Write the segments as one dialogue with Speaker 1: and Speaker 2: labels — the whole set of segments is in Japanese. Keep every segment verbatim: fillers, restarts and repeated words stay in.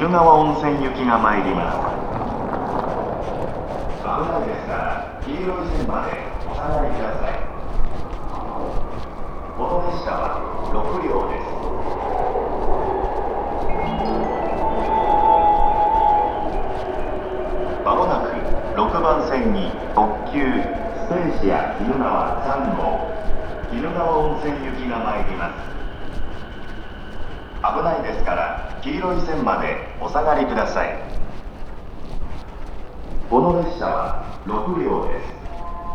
Speaker 1: 鬼怒川温泉行きが参ります。危ないですから黄色い線までお下がりください。この列車はろくりょうです。まもなくろくばん線に特急スペーシア鬼怒川さんごう鬼怒川温泉行きが参ります。危ないですから黄色い線までお下がりください。この列車はろくりょうです。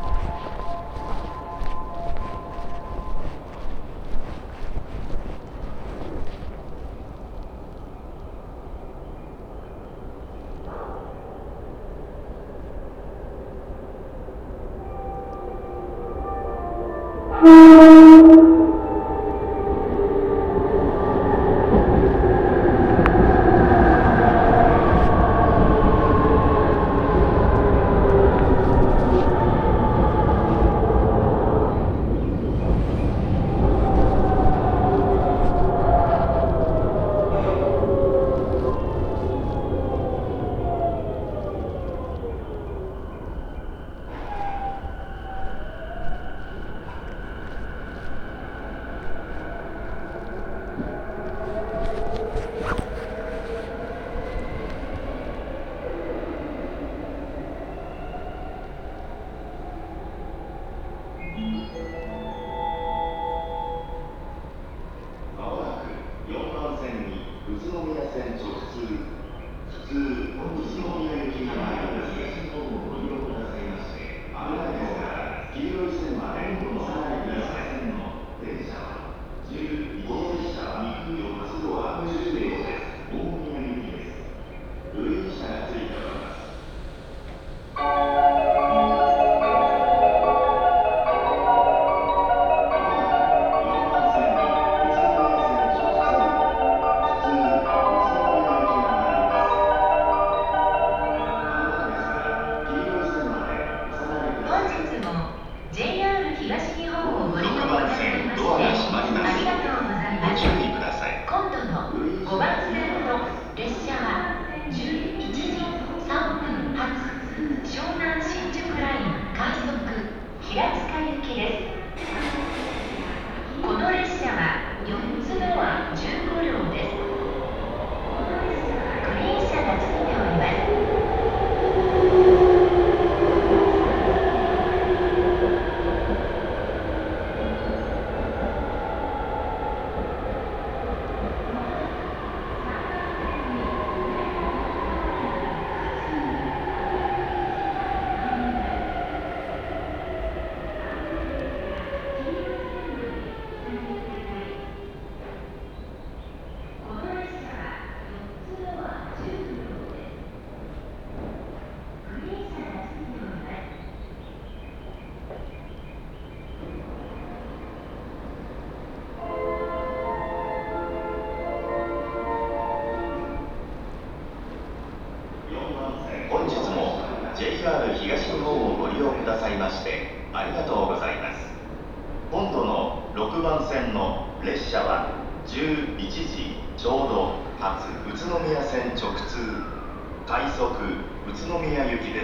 Speaker 1: 本日も ジェイアール 東日本をご利用くださいましてありがとうございます。今度のろくばん線の列車はじゅういちじちょうど発宇都宮線直通快速宇都宮行きです。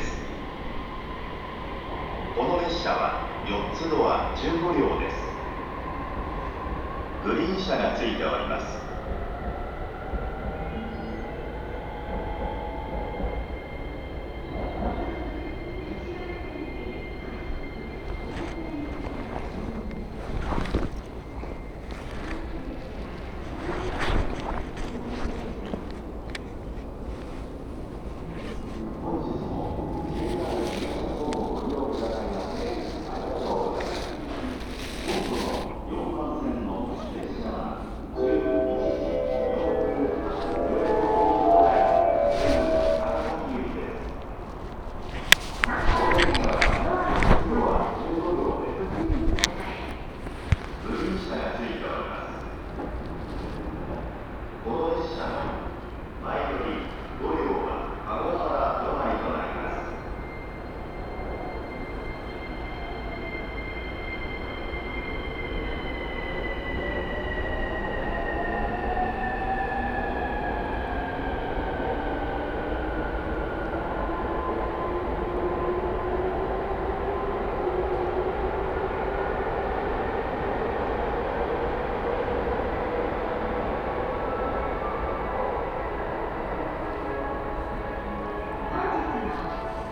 Speaker 1: この列車はよっつドアじゅうごりょうです。グリーン車がついております。よんばん線の列車はじゅういち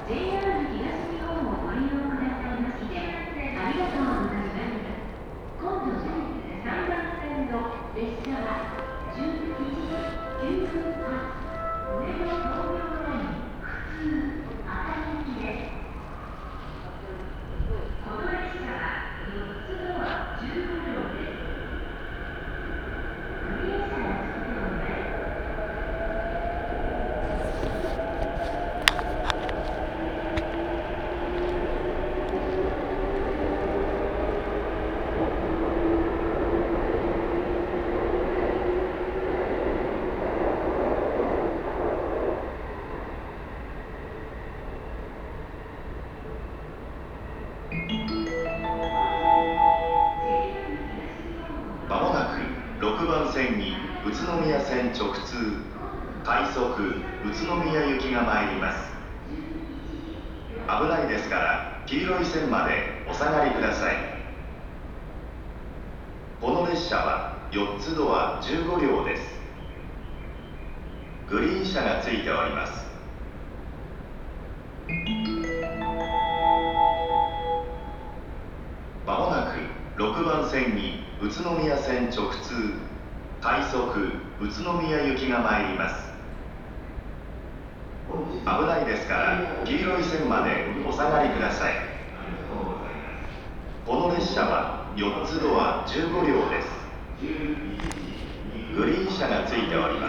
Speaker 2: ジェイアール 東日本をご利用くださいましてありがとうございます。今度さんばん線の列車はじゅういちじきゅうふん発上野東京ライン普通熱海行きです。この列車はよっつドアじゅうご両です。グリーン車がついております。
Speaker 1: まもなくろくばん線に宇都宮線直通快速宇都宮行きが参ります。危ないですから黄色い線までお下がりください。この列車はよっつドアじゅうご両です。グリーン車がついております。まもなくろくばん線に宇都宮線直通快速宇都宮行きが参ります。危ないですから黄色い線までお下がりください。この列車はよっつドアじゅうご両です。グリーン車がついております。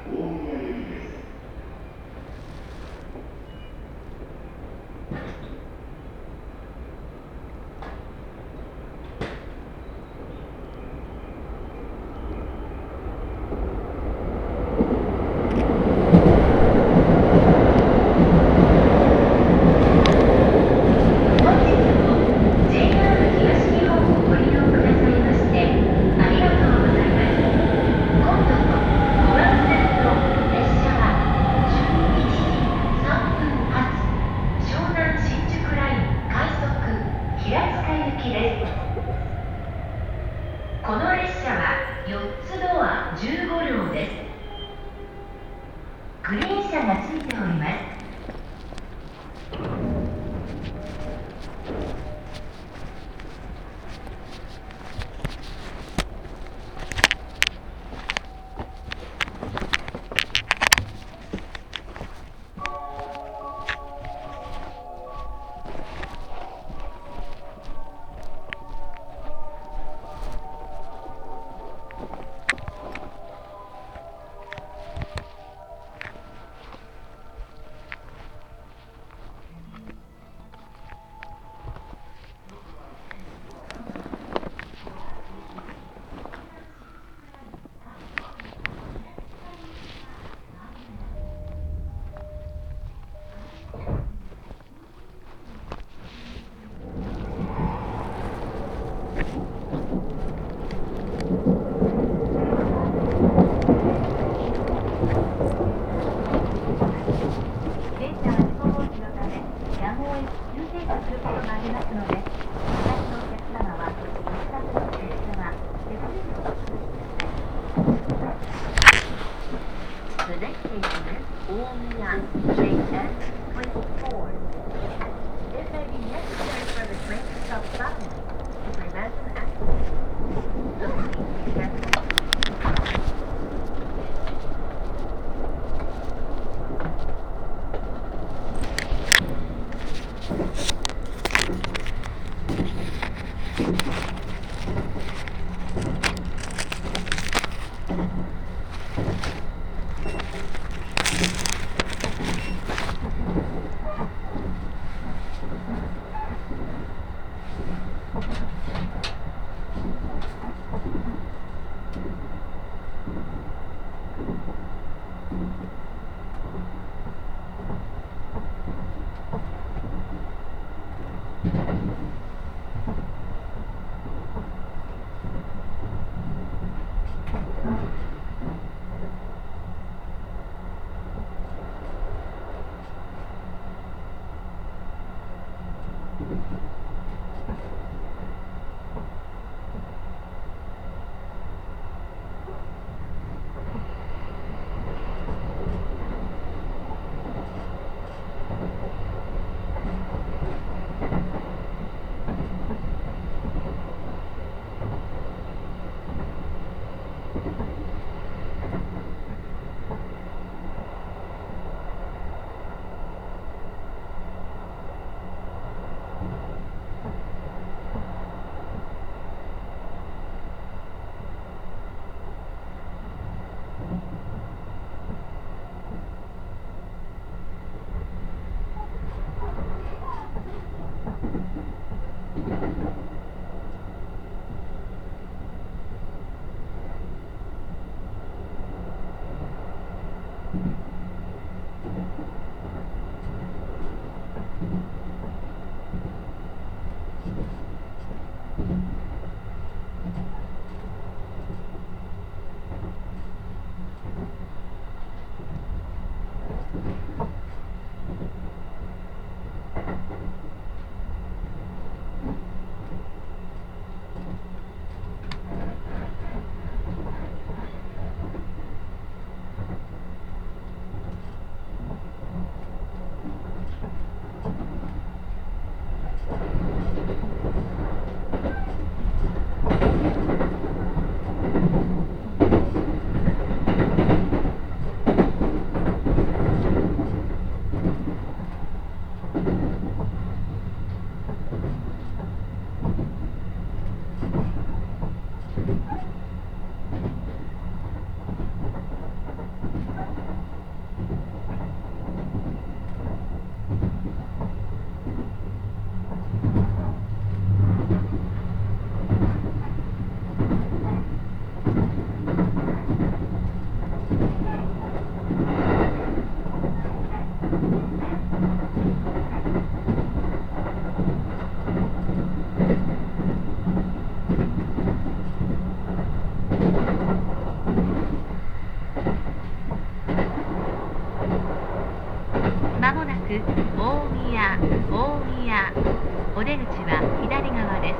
Speaker 2: この列車はよっつドアじゅうご両です。グリーン車がついております。The next station is Omiya, J S twenty-four. It may be necessary for the train to stop suddenly to prevent an accident. So please be careful. もなく大宮、大宮。お出口は左側です。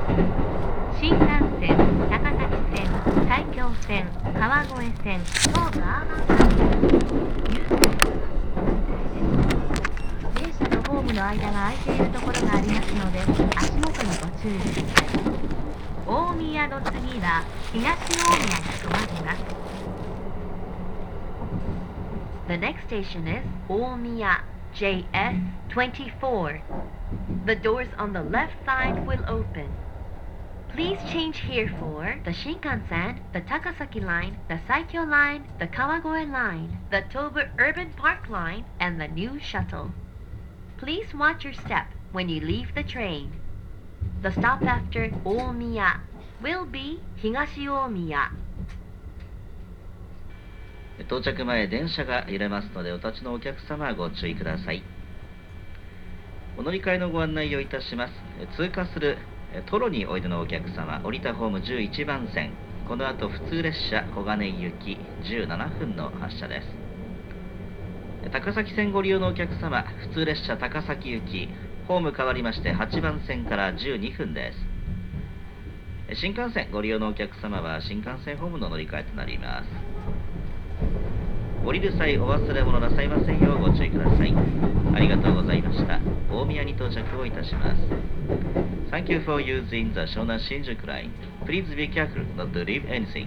Speaker 2: 新幹線、高崎線、埼京線、川越線、東武アーバンライン、優先電車とホームの間が空いているところがありますので、足元にご注意ください。大宮の次は東大宮に停まります。The next station is Omiya, J S twenty-four. The doors on the left side will open. Please change here for the Shinkansen, the Takasaki line, the Saikyo line, the Kawagoe line, the Tobu Urban Park line, and the new shuttle. Please watch your step when you leave the train. The stop after Omiya will be Higashi Omiya.
Speaker 3: 到着前、電車が揺れますので、お立ちのお客様はご注意ください。お乗り換えのご案内をいたします。通過するトロにおいでのお客様、降りたホームじゅういちばん線、この後普通列車小金井行きじゅうななふんの発車です。高崎線ご利用のお客様、普通列車高崎行き、ホーム変わりましてはちばん線からじゅうにふんです。新幹線ご利用のお客様は新幹線ホームの乗り換えとなります。降りる際お忘れ物なさいませんようご注意ください。ありがとうございました。大宮に到着をいたします。Thank you for using the Shonan Shinjuku line. Please be careful not to leave anything.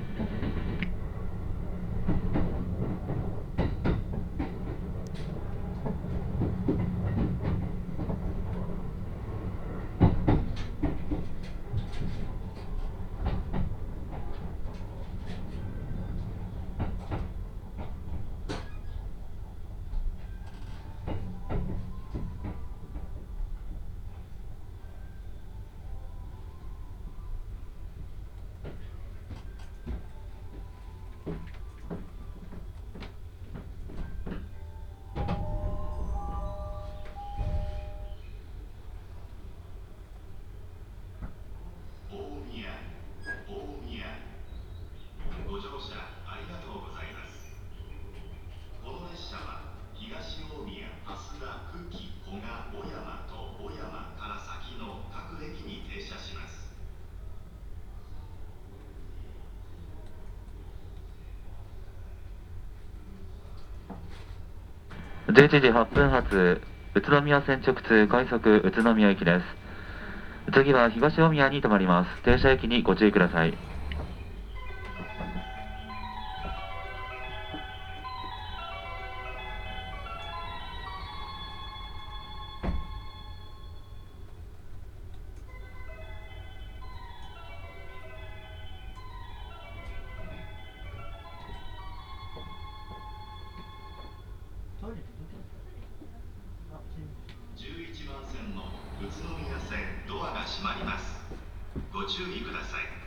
Speaker 1: ご乗車ありがとうございます。この列車は東大宮、蓮田、久喜、古賀、小山と小山から先の各駅に停車します。
Speaker 4: じゅういちじはっぷん発、宇都宮線直通快速宇都宮行きです。次は東大宮に停まります。停車駅にご注意ください。
Speaker 1: じゅういちばん線の宇都宮線ドアが閉まります。ご注意ください。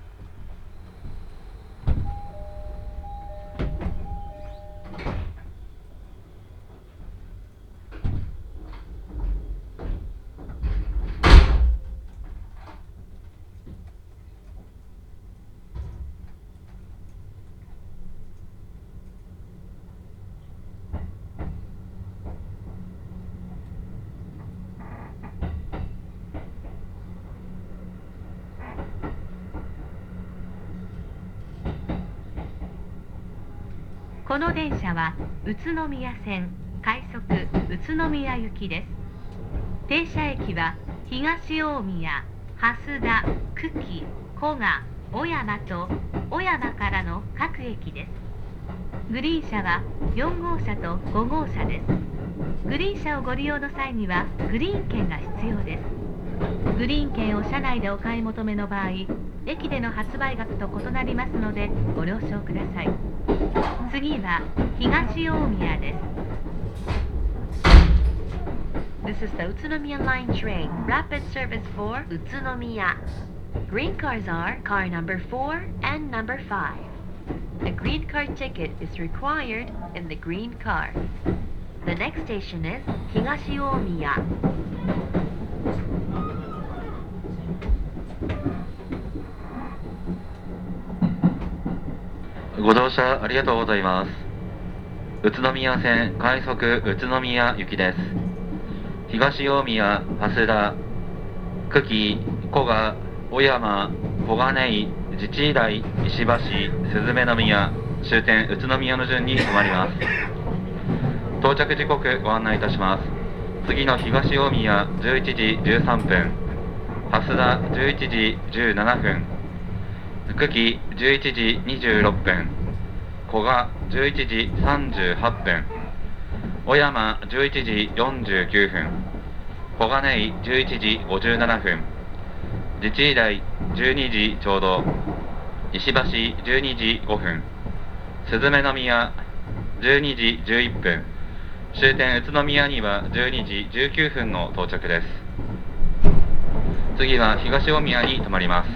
Speaker 2: この電車は宇都宮線快速宇都宮行きです。停車駅は東大宮、蓮田、久喜、古賀、小山と小山からの各駅です。グリーン車はよん号車とご号車です。グリーン車をご利用の際にはグリーン券が必要です。グリーン券を車内でお買い求めの場合、駅での発売額と異なりますのでご了承ください。次は東大宮です。This is the Utsunomiya Line train, rapid service for Utsunomiya. Green cars are car number four and number five. A green car ticket is required in the green car. The next station is Higashi Omiya.
Speaker 4: ご乗車ありがとうございます。宇都宮線快速宇都宮行きです。 東大宮、蓮田、久喜、古賀、小山、小金井、自治医大、石橋、鈴目宮、終点宇都宮の順に停まります。到着時刻ご案内いたします。次の東大宮じゅういちじじゅうさんぷん、蓮田じゅういちじじゅうななふん、久喜じゅういちじにじゅうろっぷん、古賀じゅういちじさんじゅうはっぷん、小山じゅういちじよんじゅうきゅうふん、小金井じゅういちじごじゅうななふん、自治医大じゅうにじちょうど、石橋じゅうにじごふん、鈴目宮じゅうにじじゅういっぷん、終点宇都宮にはじゅうにじじゅうきゅうふんの到着です。次は東大宮に停まります。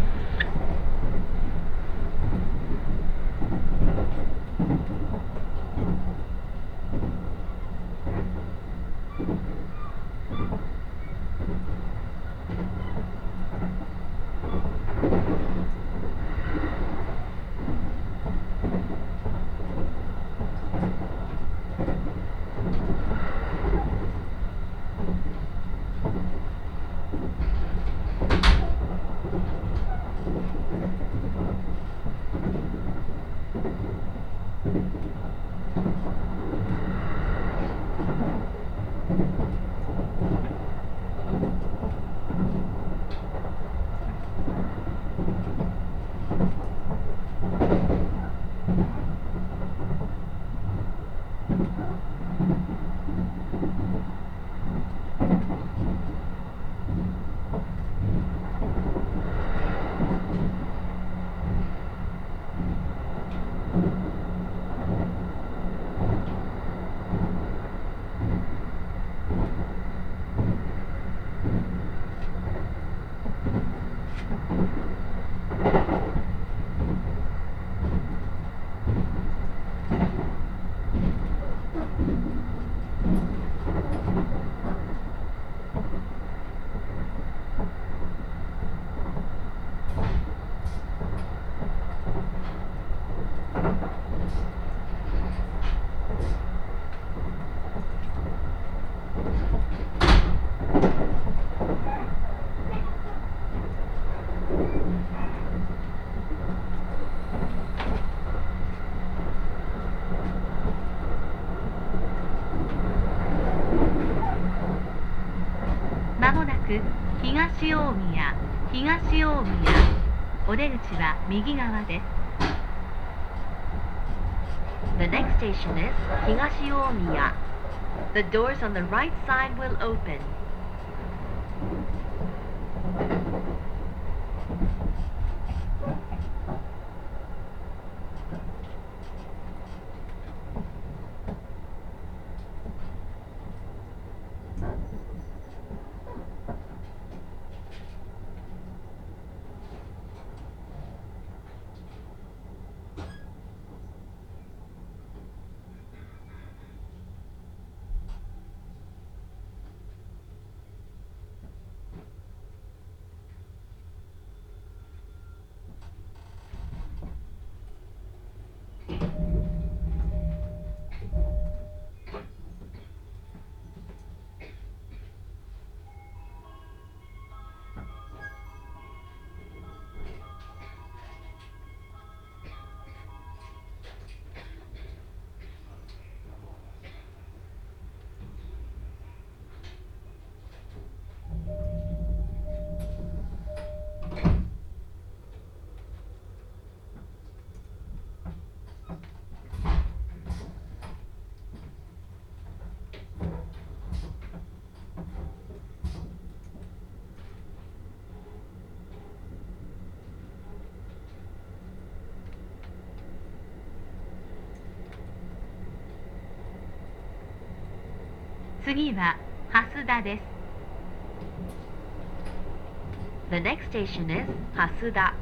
Speaker 2: まもなく東大宮、東大宮、お出口は右側です。The next station is 東大宮. The doors on the right side will open. 次は蓮田です。The next station is 蓮田.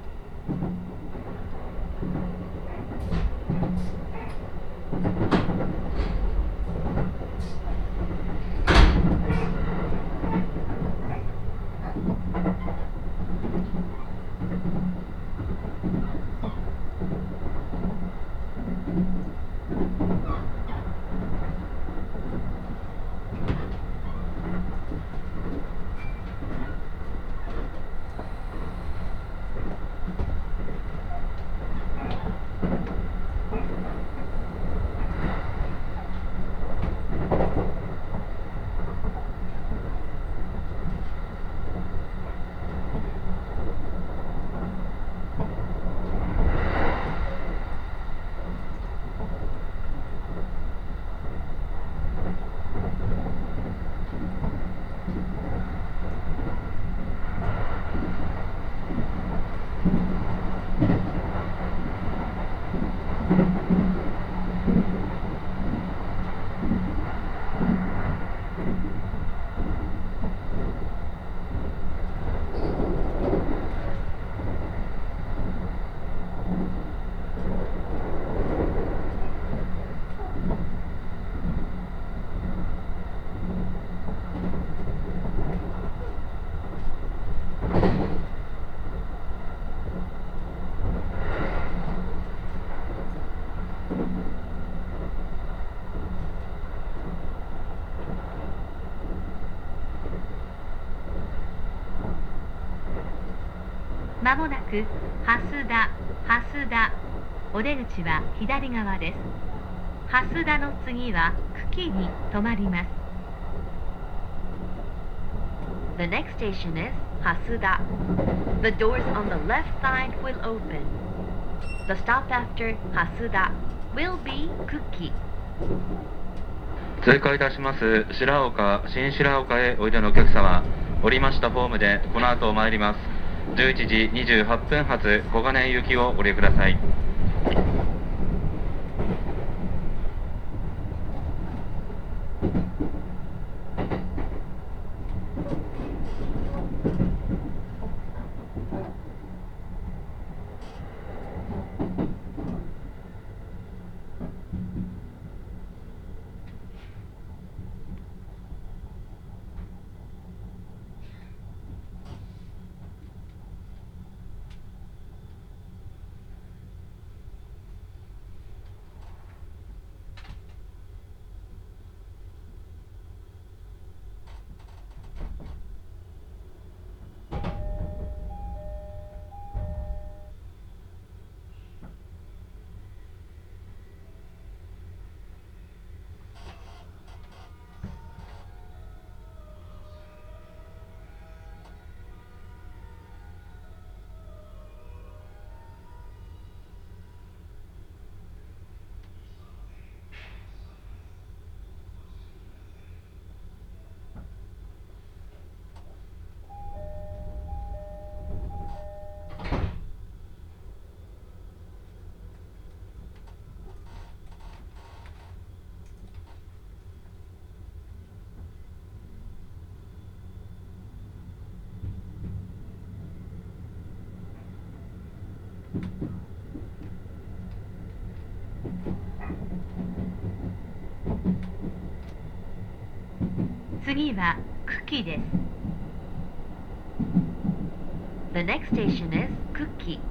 Speaker 2: まもなく蓮田、蓮田。お出口は左側です。蓮田の次は久喜に停まります。The next station is Hasuda. The doors on the left side will open. The stop after Hasuda will be Kuki.
Speaker 4: 通過いたします白岡、新白岡へおいでのお客様、降りましたホームでこの後参りますじゅういちじにじゅうはっぷん発小金井行きをご利用ください。
Speaker 2: 次は久喜です。The next station is 久喜。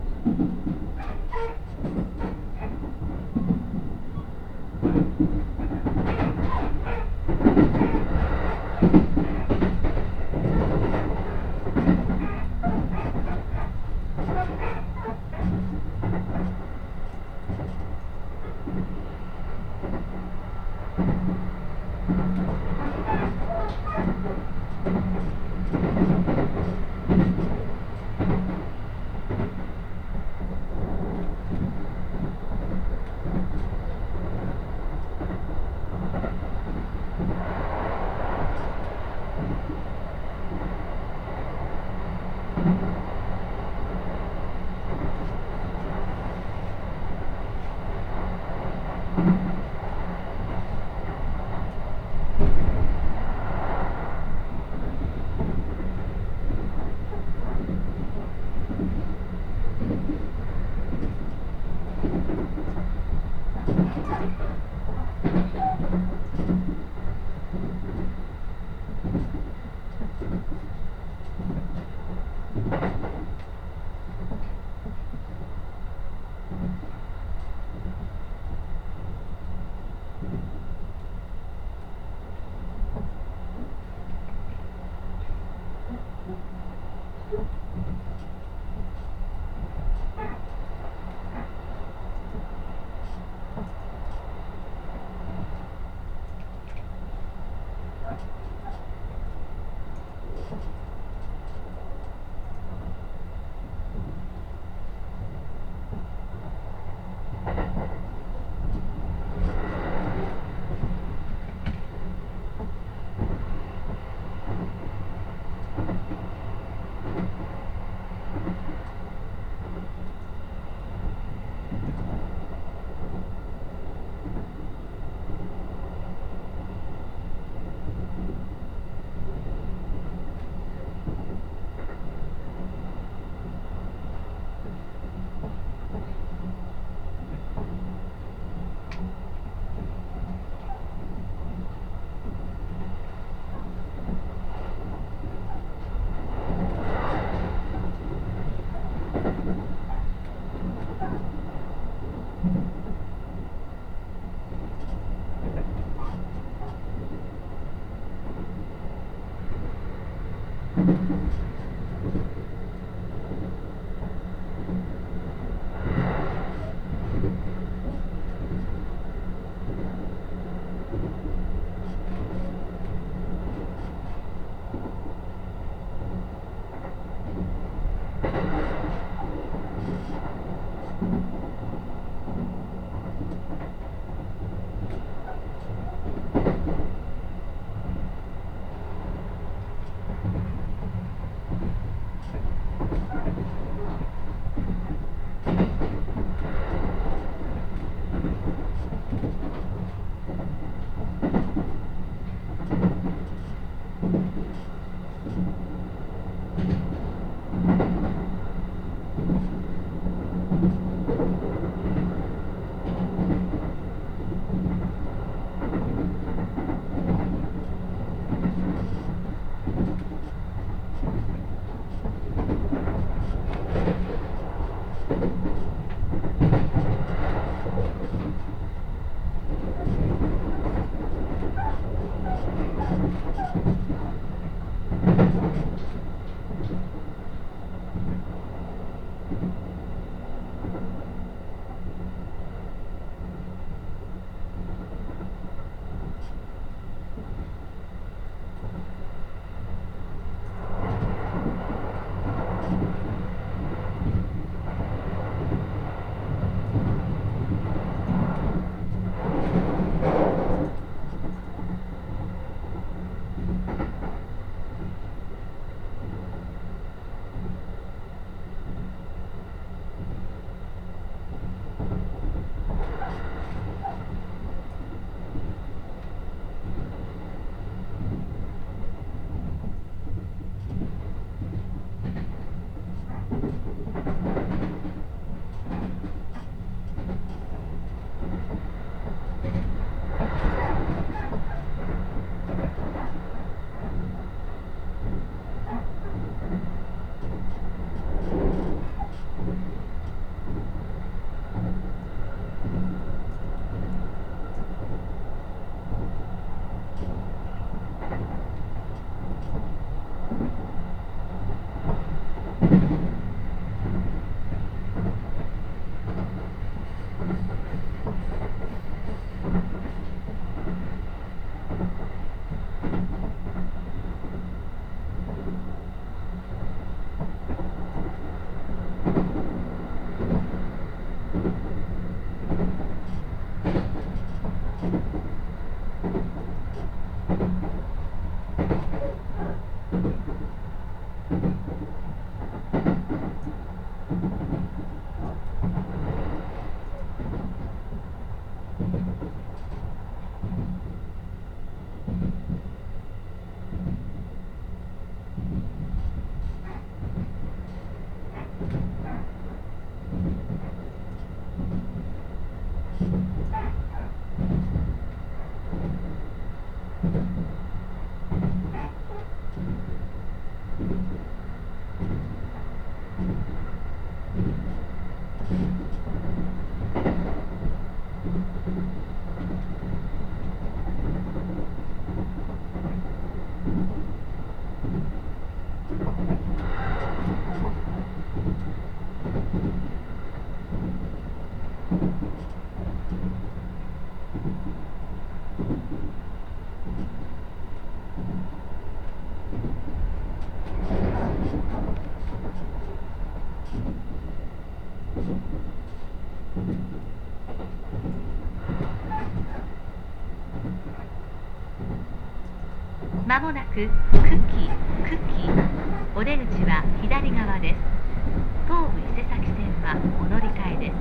Speaker 2: まもなくクッキー、クッキー。お出口は左側です。東武伊勢崎線はお乗り換えです。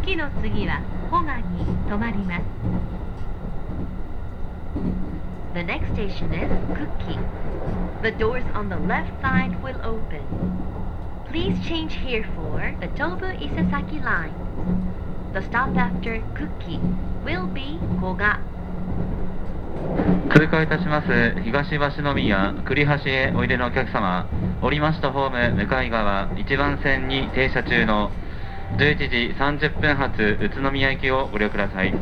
Speaker 2: 久喜の次は保賀に停まります。The next station is Kuki. The doors on the left side will open. Please change here for the Tobu Isesaki line. The stop after Kuki will be Koga.
Speaker 4: 通過いたします東橋宮栗橋へおいでのお客様、降りましたホーム向かい側いちばん線に停車中のじゅういちじさんじゅっぷん発宇都宮行きをご利用ください。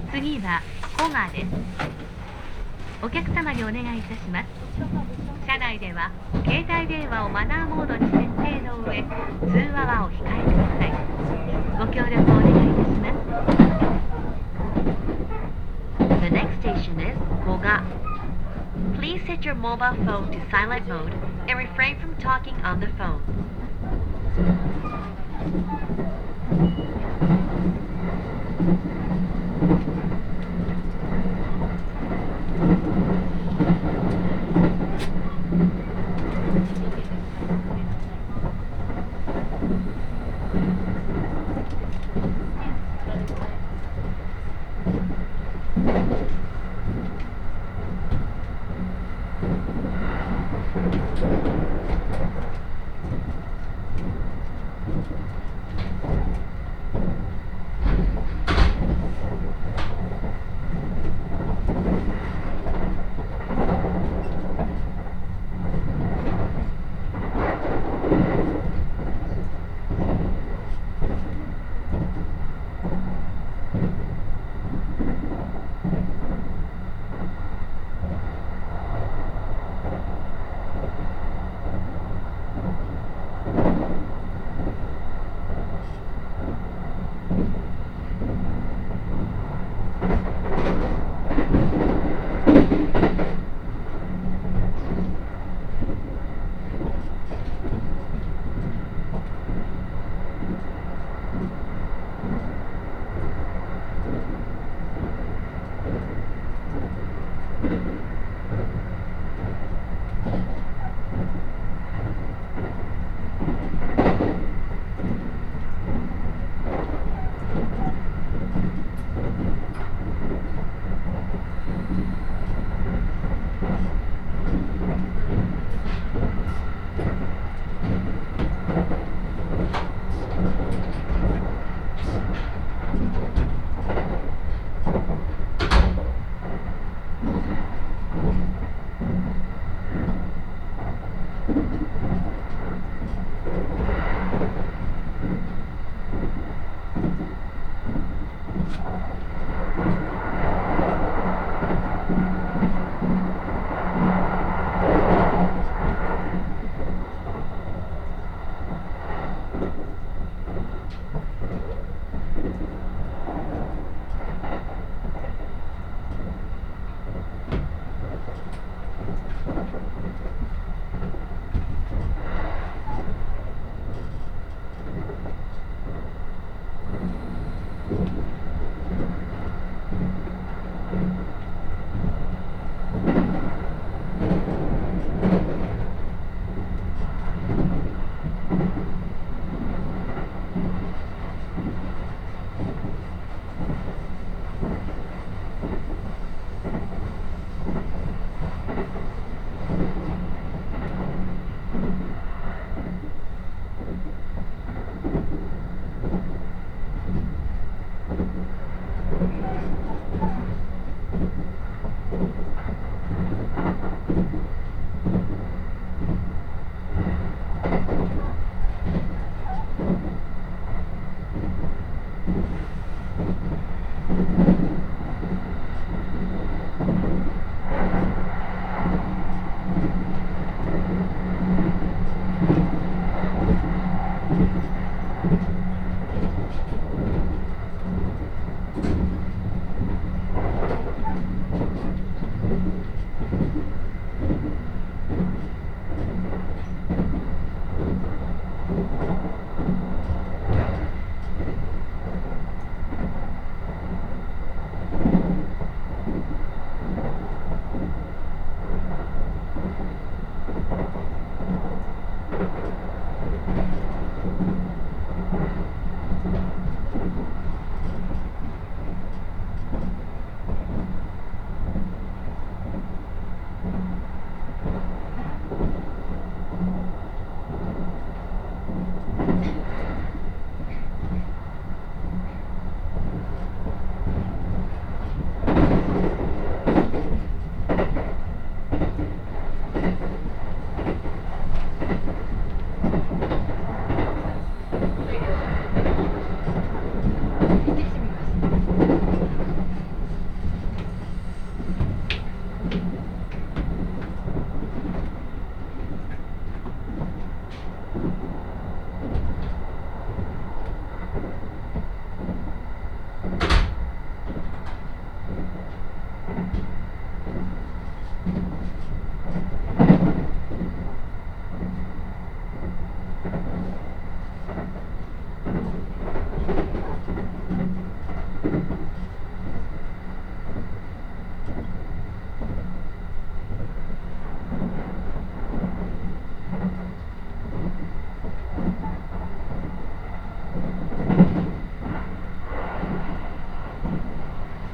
Speaker 2: 次は古賀です。お客様にお願いいたします。車内では携帯電話をマナーモードに設定の上、通話はお控えください。ご協力をお願いいたします。The next station is Koga. Please set your mobile phone to silent mode and refrain from talking on the phone.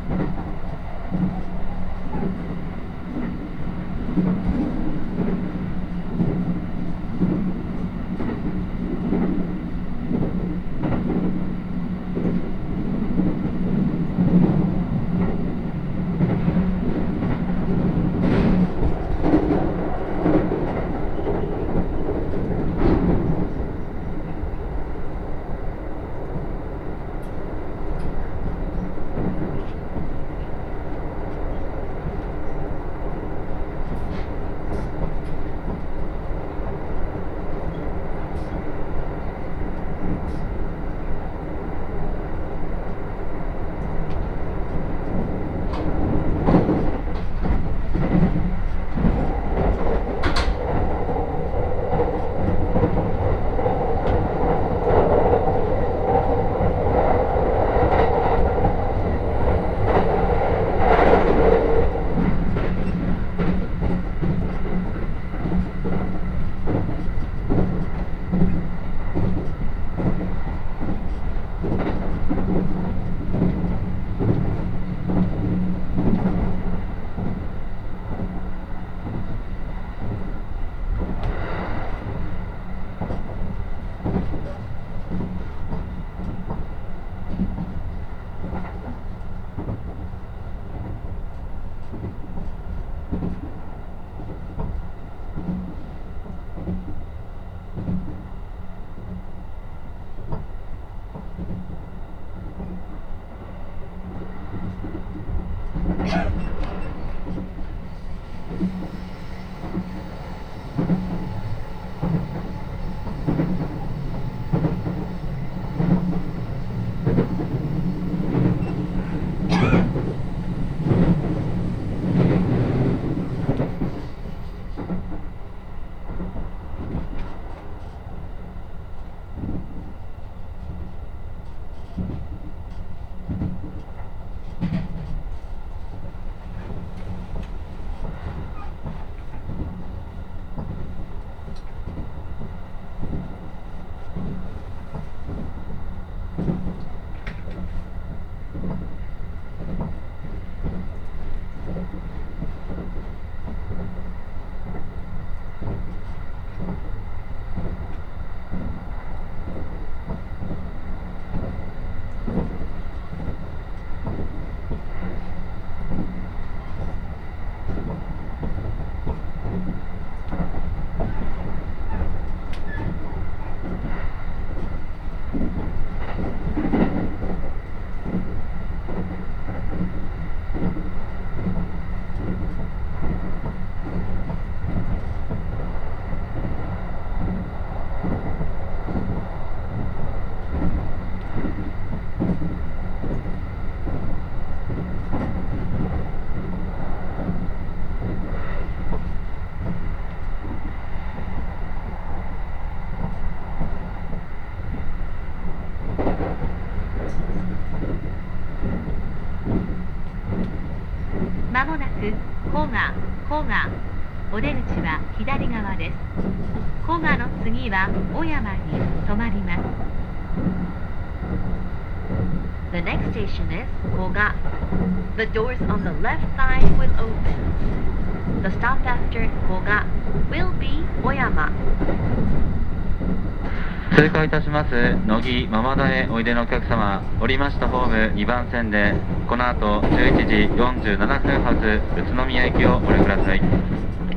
Speaker 2: まもなく古賀、古賀、お出口は左側です。古賀の次は小山に止まります。The next station is Koga. The doors on the left side will open. The stop after Koga will be Oyama.
Speaker 4: 通過いたします乃木ママダへおいでのお客様、降りましたホームにばん線でこの後じゅういちじよんじゅうななふん発宇都宮行きをご利用ください。